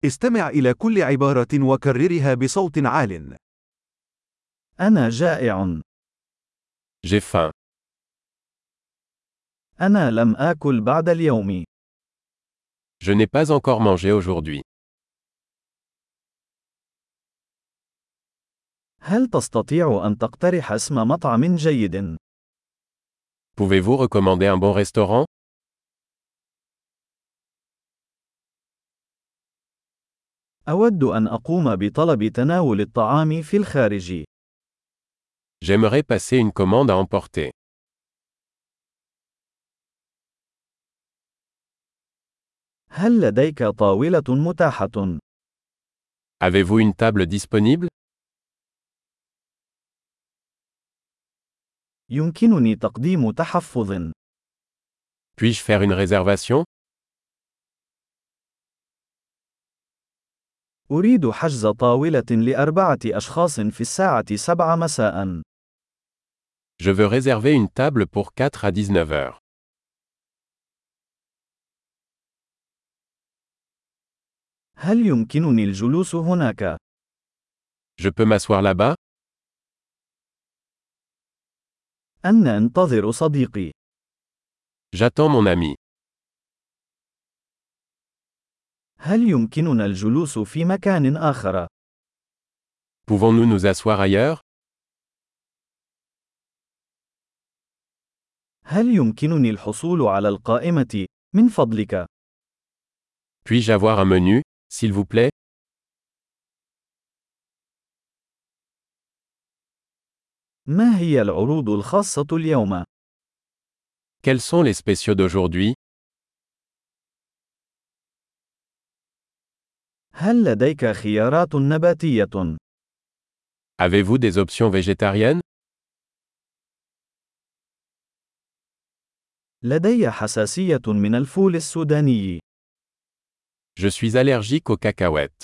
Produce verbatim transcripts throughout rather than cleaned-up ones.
استمع إلى كل عبارة وكررها بصوت عال. أنا جائع. J'ai faim. أنا لم آكل بعد اليوم. Je n'ai pas encore mangé aujourd'hui. هل تستطيع أن تقترح اسم مطعم جيد؟ Pouvez-vous recommander un bon restaurant? أود أن أقوم بطلب تناول الطعام في الخارج. J'aimerais passer une commande à emporter. هل لديك طاولة متاحة؟ Avez-vous une table disponible? يمكنني تقديم تحفظ. Puis-je faire une réservation? أريد حجز طاولة لأربعة أشخاص في الساعة سبعة مساء. Je veux réserver une table pour quatre à dix-neuf heures. هل يمكنني الجلوس هناك؟ Je peux m'asseoir là-bas? أنا أنتظر صديقي. J'attends mon ami. هل يمكننا الجلوس في مكان آخر؟ Pouvons-nous nous asseoir ailleurs? هل يمكنني الحصول على القائمة، من فضلك؟ Puis-je avoir un menu, s'il vous plaît? ما هي العروض الخاصة اليوم؟ Quels sont les spéciaux d'aujourd'hui? هل لديك خيارات نباتية؟ Avez-vous des options végétariennes? لدي حساسية من الفول السوداني. Je suis allergique aux cacahuètes.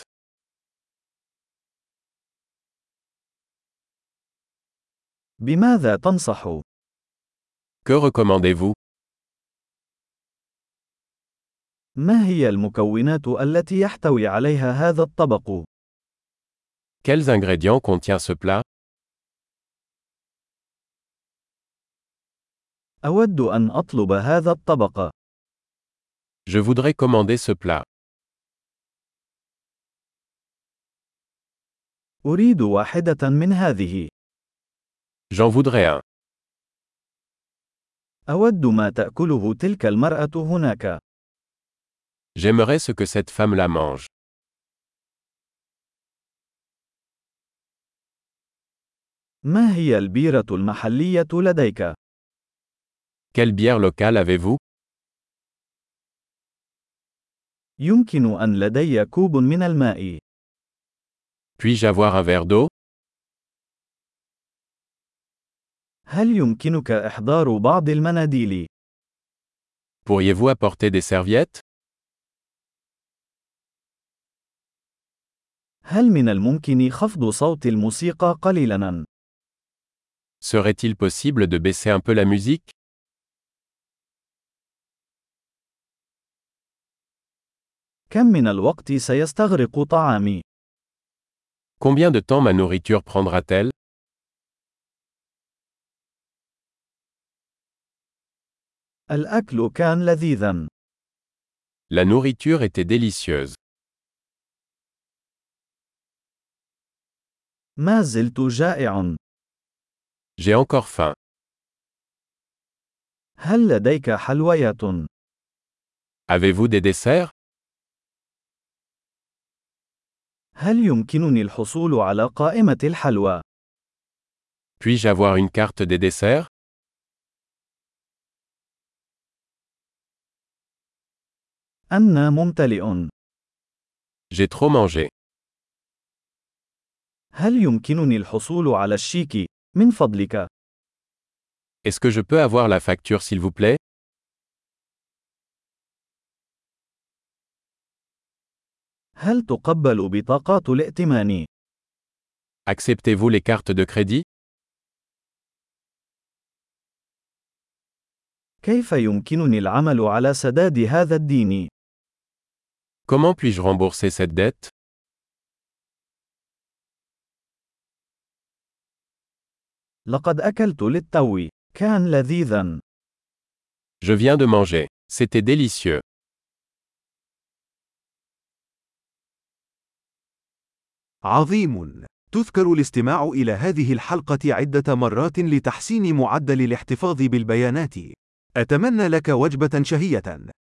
بماذا تنصح؟ Que recommandez-vous? ما هي المكونات التي يحتوي عليها هذا الطبق؟ Quels ingrédients contient ce plat? أود أن أطلب هذا الطبق. Je voudrais commander ce plat. أريد واحدة من هذه. J'en voudrais un. أود ما تأكله تلك المرأة هناك. J'aimerais ce que cette femme la mange. ما هي البيرة المحلية لديك؟ Quelle bière locale avez-vous? يمكن أن لدي كوب من الماء. Puis-je avoir un verre d'eau? هل يمكنك إحضار بعض المناديل؟ Pourriez-vous apporter des serviettes? هل من الممكن خفض صوت الموسيقى قليلاً؟ Serait-il possible de baisser un peu la musique? كم من الوقت سيستغرق طعامي؟ Combien de temps ma nourriture prendra-t-elle? الأكل كان لذيذاً. La nourriture était délicieuse. ما زلت جائع. J'ai encore faim. هل لديك حلويات؟ Avez-vous des desserts? هل يمكنني الحصول على قائمة الحلوى؟ Puis-je avoir une carte des desserts? أنا ممتلئ. J'ai trop mangé. هل يمكنني الحصول على الشيك، من فضلك؟ Est-ce que je peux avoir la facture s'il vous plaît? هل تقبل بطاقات الائتمان؟ Acceptez-vous les cartes de crédit? كيف يمكنني العمل على سداد هذا الدين؟ Comment puis-je rembourser cette dette? لقد أكلت للتو. كان لذيذا. Je viens de manger. C'était délicieux. عظيم. تذكر الاستماع إلى هذه الحلقة عدة مرات لتحسين معدل الاحتفاظ بالبيانات. أتمنى لك وجبة شهية.